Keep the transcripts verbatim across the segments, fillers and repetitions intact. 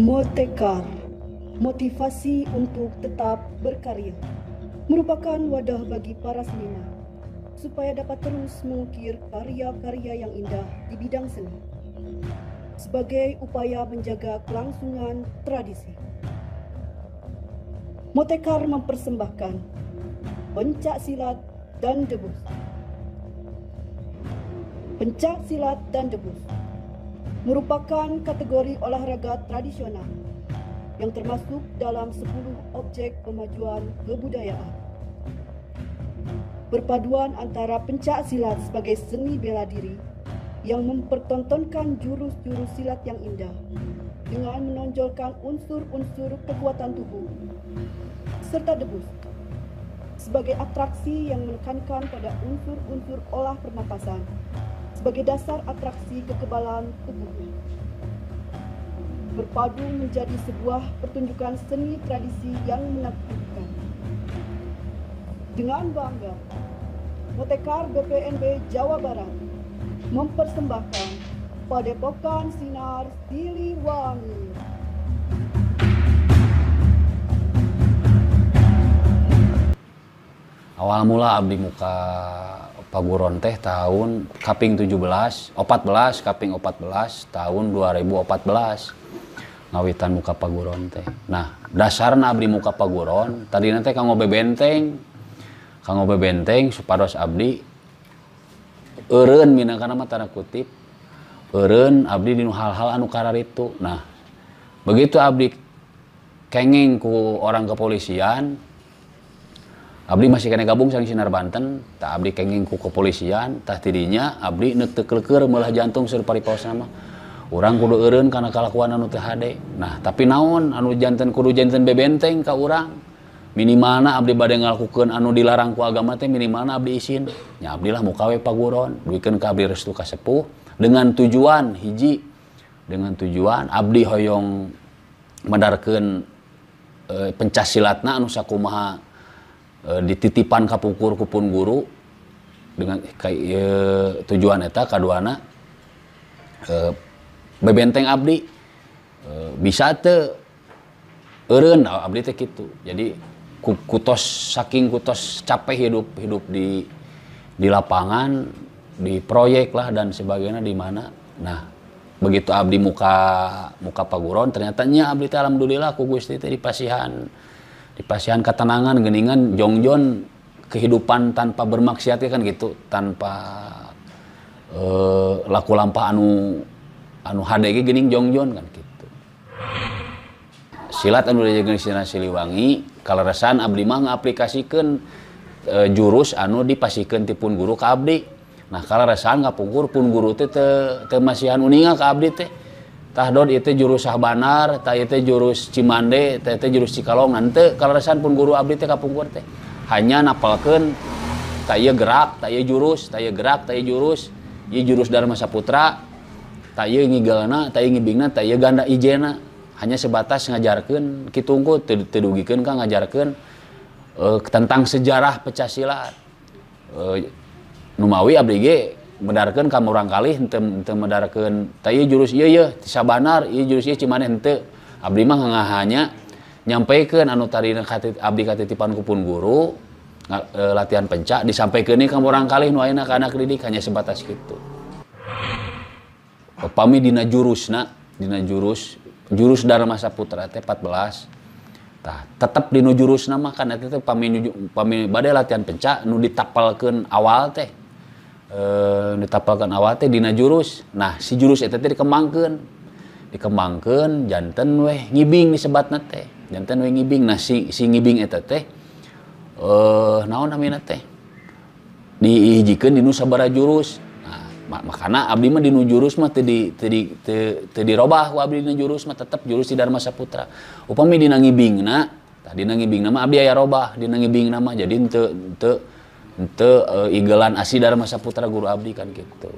Motekar, motivasi untuk tetap berkarya, merupakan wadah bagi para seniman supaya dapat terus mengukir karya-karya yang indah di bidang seni sebagai upaya menjaga kelangsungan tradisi. Motekar mempersembahkan pencak silat dan debus. Pencak silat dan debus merupakan kategori olahraga tradisional yang termasuk dalam sepuluh objek pemajuan kebudayaan. Perpaduan antara pencak silat sebagai seni bela diri yang mempertontonkan jurus-jurus silat yang indah dengan menonjolkan unsur-unsur kekuatan tubuh, serta debus sebagai atraksi yang menekankan pada unsur-unsur olah pernapasan sebagai dasar atraksi kekebalan tubuh. Berpadu menjadi sebuah pertunjukan seni tradisi yang menakjubkan. Dengan bangga, Motekar B P N B Jawa Barat mempersembahkan Padepokan Sinar Siliwangi. Awal mula abdi muka paguron teh tahun kaping tujuh belas, opat belas, kaping opat belas tahun dua ribu opat belas. Ngawitan muka paguron teh. Nah, dasarna abdi muka paguron, tadi nanti kanggo bebenteng. Kanggo bebenteng supados abdi eureun minangkana mah tanda kutip. Eureun abdi dinu hal-hal anu kararitu. Nah, begitu abdi kenging ku orang kepolisian, abdi masih kena gabung sang Sinar Banten, tak abdi kenging ku kepolisian, tah tidinya abdi neuk teu keleukeur meulah jantung seur pariposna mah. Urang kudu eureun kana kalakuan anu teu hade. Nah, tapi naon anu janten kudu janten bebenteng ka urang. Minimalna abdi bade ngalakukeun anu dilarang ku agama teh minimalna abdi isin. Nya abdi lah muka we paguron, duikeun ka abdi restu ka sepuh dengan tujuan hiji, dengan tujuan abdi hoyong madarkeun e, pencaksilatna anu sakumaha e, dititipan kapukur ku pun guru dengan e, tujuan eta kaduana e, bebenteng abdi e, bisa teu eureun abdi teh kitu. Jadi kutos saking kutos capek hidup hidup di di lapangan, di proyek lah dan sebagainya di mana. Nah, begitu abdi muka muka paguron ternyata nya abdi teh alhamdulillah ku Gusti teh dipasihan dipasihan katenangan geuningan jongjon kehidupan tanpa bermaksiat kan gitu, tanpa e, laku lampah anu anu hade ge geuning jongjon kan gitu. Silat anu diajarkeun Sinar Siliwangi kaleresan abdi mah ngaplikasikeun e, jurus anu dipasikeun ti pun guru ka abdi. Nah, kaleresan ngapungkur pun guru teh teu teu masihan uninga ka abdi teh. Tah dod ieu teh jurus Sahbanar, tah ieu teh jurus Cimande, tah ieu teh jurus Cikalongan teu kaleresan pun guru abdi teh kapungkur teh. Hanya napalkeun tah ieu gerak, tah ieu jurus, tah ieu gerak, tah ieu jurus, ieu jurus Dharma Saputra, tah ieu ngigelna, tah ieu ngibingna, tah ieu ganda ijena. Hanya sebatas ngajarkeun kitu engko teu dugikeun ka ngajarkeun e, tentang sejarah pencak e, numawi abdi ge medarkeun ka urang kalih henteu henteu medarkeun tah ieu jurus ieu ieu ti Sabanar, ieu jurus ieu Cimaneh henteu. Abdi mah ngahanya nyampaikeun anu tadi abdi katitipan ku pun guru e, latihan pencak disampaikeun ka urang kalih nu ayeuna ka anak didik hanya sebatas kitu. Upami dina jurusna, dina jurus jurus Dharma Saputra teh empat belas. Tah, tetep dinu jurusna mah kan eta teh pami pami bade latihan pencak nu ditapalkeun awal teh. E, ditapalkeun awal teh dina jurus. Nah, si jurus eta teh dikembangkeun. Dikembangkeun janten weh ngibing disebatna teh. Janten weh ngibing. Nah, si si ngibing eta teh eh naon namina teh? Dihijikeun dinu sabaraha jurus. Makana abdi mah dinu jurus mah teu di teu di teu dirobah ku abdi dina jurus mah tetep jurus di Dharma Saputra. Upami dina ngibingna, tah dina ngibingna mah abdi aya robah, dina ngibingna mah jadi henteu henteu henteu e, igelan asli Dharma Saputra guru abdi kan kitu.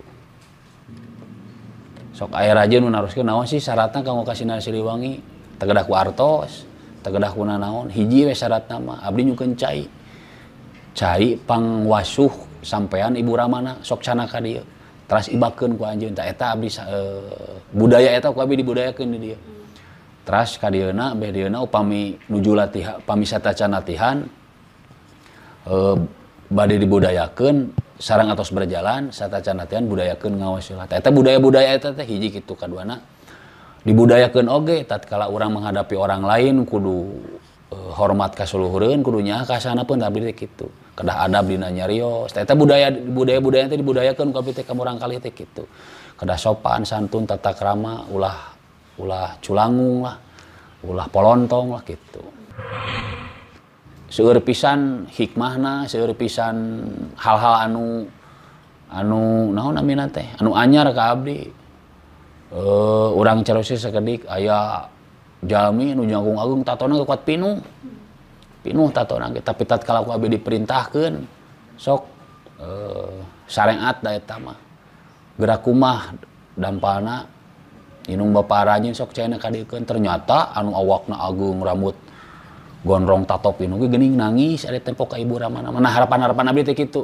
Sok aya raja nu naroskeun naon sih syaratna kanggo ka Sinar Siliwangi? Tegedah ku artos, tegedah ku nanaon? Hiji we syaratna mah abdi nyukeun cai. Cai pangwasuh sampean Ibu Ramana sok cana ka dieu. Teras ibakeun ku anjeun tah eta abdi e, budaya eta ku abdi dibudayakeun di dieu. Teras ka dieuna beh dieuna upami nuju latihan upami satacan latihan eh, bade dibudayakeun sareng atos berjalan satacan latihan budayakeun ngaos silat. Eta budaya-budaya eta teh hiji kitu kaduana dibudayakeun oge tatkala urang menghadapi orang lain kudu eh, hormat ka suluhureun kudu nyaho ka asanapeun abdi teh kitu. Kedah adab dina nyarios. Eta budaya budaya-budaya teh dibudayakeun ku abdi teh ka murang kalih teh kitu. Kedah sopan santun tata krama ulah ulah culangung lah ulah polontong lah gitu. Seueur pisan hikmahna, seueur pisan hal-hal anu anu naon namina teh anu anyar ka abdi. Uh, urang Cileusi sakedik aya jalmi nu jangkung agung tatona kuat pinuh. Pinuh tatona ge tapi tatkala ku abdi diperintahkeun sok uh, sarengat da eta mah. Gerak kumah dampalna inung bapa rajin sok cenah kadikeun ternyata anu awakna agung rambut gondrong tato pinuh ge geuning nangis ada tempo ka ibu ramana. Nah harapan-harapan abdi teh kitu.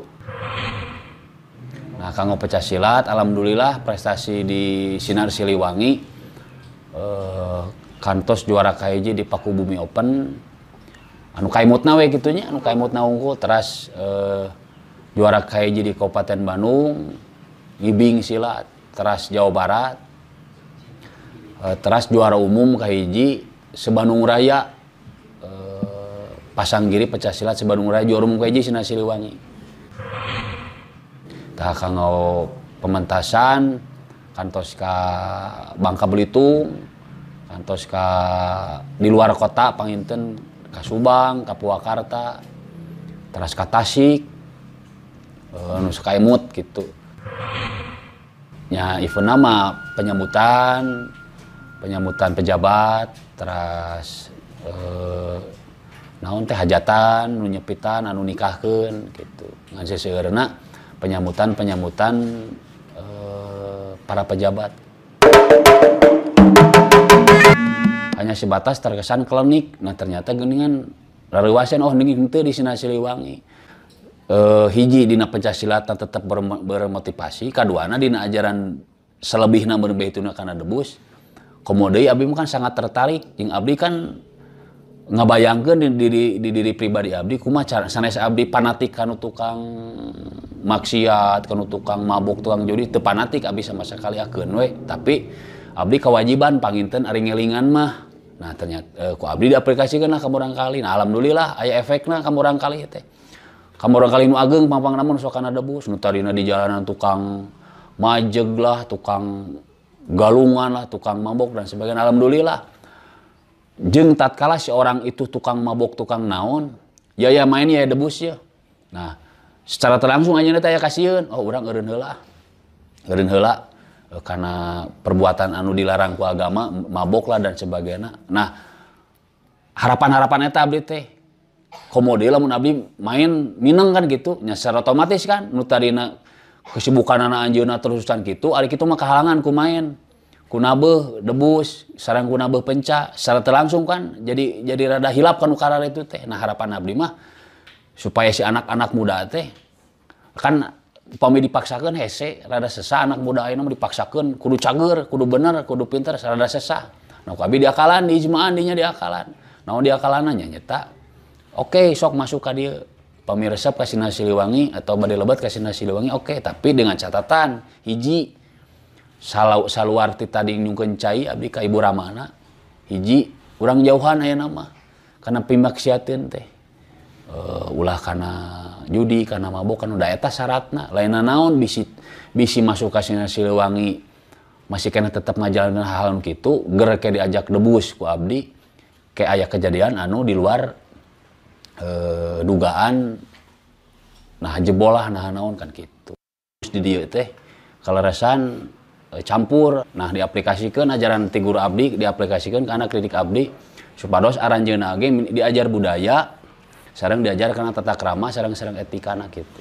Nah kanggo pecah silat alhamdulillah prestasi di Sinar Siliwangi eh, kantos juara kahiji di Pakubumi Open anu kaimutna we kitu nya anu kaimutna unggul teras eh, juara kahiji di Kabupaten Bandung ngibing silat teras Jawa Barat eh, teras juara umum kahiji se-Bandung Raya eh, Pasanggiri pecah silat se-Bandung Raya juara umum kahiji Sinar Siliwangi. Tah kanggo pementasan kantos ka Bangka Belitung, kantos ka di luar kota panginten ka Subang, ka Purwakarta, teras ka Tasik, anu sakaimut gitu. Nya eventna mah penyambutan, penyambutan pejabat, teras eh, naon teh hajatan, nu nyepitan, anu nikahkeun gitu. Ngan seseueurna penyambutan-penyambutan eh, para pejabat. Hanya sebatas terkesan klinik. Nah ternyata geuningan rareuasan oh ninging teu di Sinar Siliwangi. Eh, hiji dina pencasilatan tetap bermotivasi, kaduana dina ajaran selebihna berbeituna kana debus. Komodeui abdi kan sangat tertarik jeung abdi kan ngabayangkeun di diri di diri pribadi abdi kumaha cara sanes abdi fanatik kanu tukang maksiat kanu tukang mabuk tukang judi teu fanatik abdi sama sakali akeun we tapi abdi kewajiban panginten ari ngelingan mah. Nah ternyata eh, ku abdi diaplikasikeun lah ka murang kali. Nah alhamdulillah aya efekna ka murang kali teh ka murang kali nu ageung pampang namun sok kana debus nu tadina di jalanan tukang majeg lah tukang galungan lah tukang mabuk dan sebagainya. Alhamdulillah jeung tatkala si orang itu tukang mabok tukang naon ya ya main ya debus ya. Nah secara terlangsung aja teh aya kasieun oh urang eureun heula eureun heula e, karena perbuatan anu dilarang ku agama mabok lah dan sebagainya. Nah harapan-harapan eta abdi teh komode lamun abdi main mineng kan gitu nya secara otomatis kan nu tadina kesibukanana anjeunna terusan gitu ari kitu mah kahalangan ku main kunabeh debus sareng kunabeh penca secara terlangsung kan jadi jadi rada hilap kan ukara itu teh. Nah harapan abdi mah supaya si anak-anak muda teh kan upami dipaksakeun hese rada sesah anak muda ayeuna mah dipaksakeun kudu cager kudu bener kudu pinter rada sesah. Nah abdi diakalan diijmaan dinya diakalan naon diakalanna nya nyeta oke okay, sok masuk ka dieu upami resep ka Sinar Siliwangi atau bade lebat ka Sinar Siliwangi oke okay, tapi dengan catatan hiji Salau saluar ti tadi nyungkeun cai abdi ka ibu ramana hiji urang jauhan ayeuna mah kana pimaksiateun teh uh, ulah kana judi kana mabok kana da eta syaratna lainna naon bisi bisi masuk ka Sinar Siliwangi masih kena tetep ngajalanin hal anu kitu ger ke diajak debus ku abdi ke aya kejadian anu di luar uh, dugaan nah jebol lah nah naon kan kitu di dieu teh kaleresan campur. Nah diaplikasikeun ajaran ti guru abdi diaplikasikeun ke anak didik abdi supados aranjeunna ge diajar budaya sareng diajar kana tata krama sareng-sareng etikana kitu.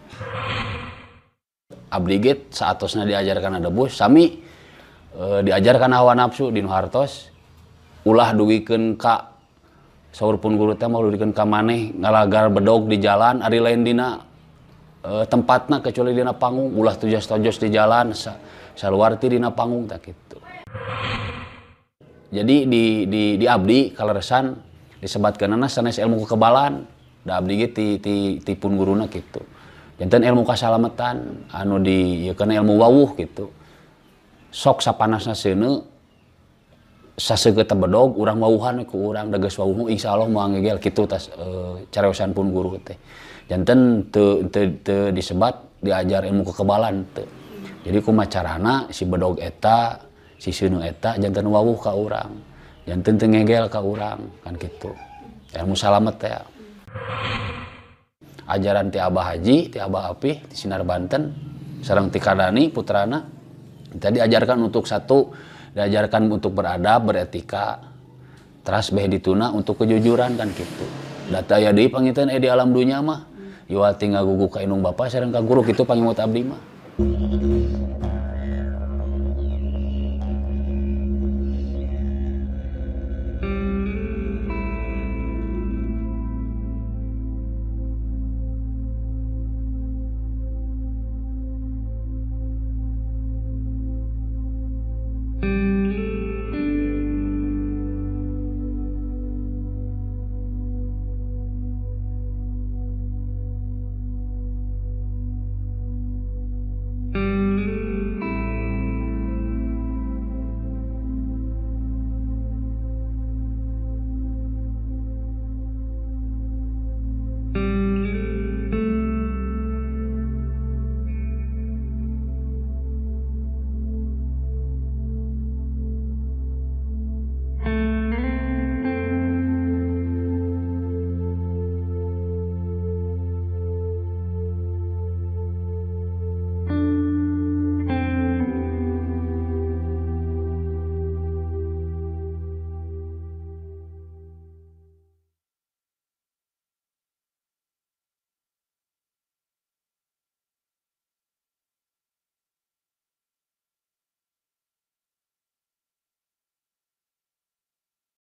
Abdi ge saatosna diajar kana debus sami e, diajar kana hawa nafsu dinu hartos ulah duwikeun ka saur pun guru teh mah duwikeun ka maneh ngalagar bedog di jalan ari lain dina e, tempatna kecuali dina panggung ulah tojos-tojos di jalan sa, saluar ti dina panggung tak kitu. Jadi di di di abdi kaleresan disebatkeunana sanes ilmu kekebalan. Da abdi ge ti ti ti pun guruna kitu. Janten ilmu kasalametan anu di ieu kana ilmu wawuh gitu. Sok sapanasna seuneu saseugeut bedog urang wawuhan ku urang da geus wawuh insyaallah moal ngegel kitu tas e, careosan pun guru teh. Janten teu teu teu disebat diajar ilmu kekebalan teu. Jadi kumaha carana si bedog eta si seuneu eta janten wawuh ka urang. Janten teu ngegel ka urang kan kitu. Ilmu salamet teh. Ajaran ti Abah Haji, ti Abah Apih, ti Sinar Banten, sareng ti Kardani putrana, kita diajarkan untuk satu, diajarkan untuk beradab, beretika, teras beh dituna untuk kejujuran kan gitu. Data ya deui panginten eh di alam dunya mah, yual tinggal gugu ka inung bapa sareng ka guru kitu pangimut abdi mah.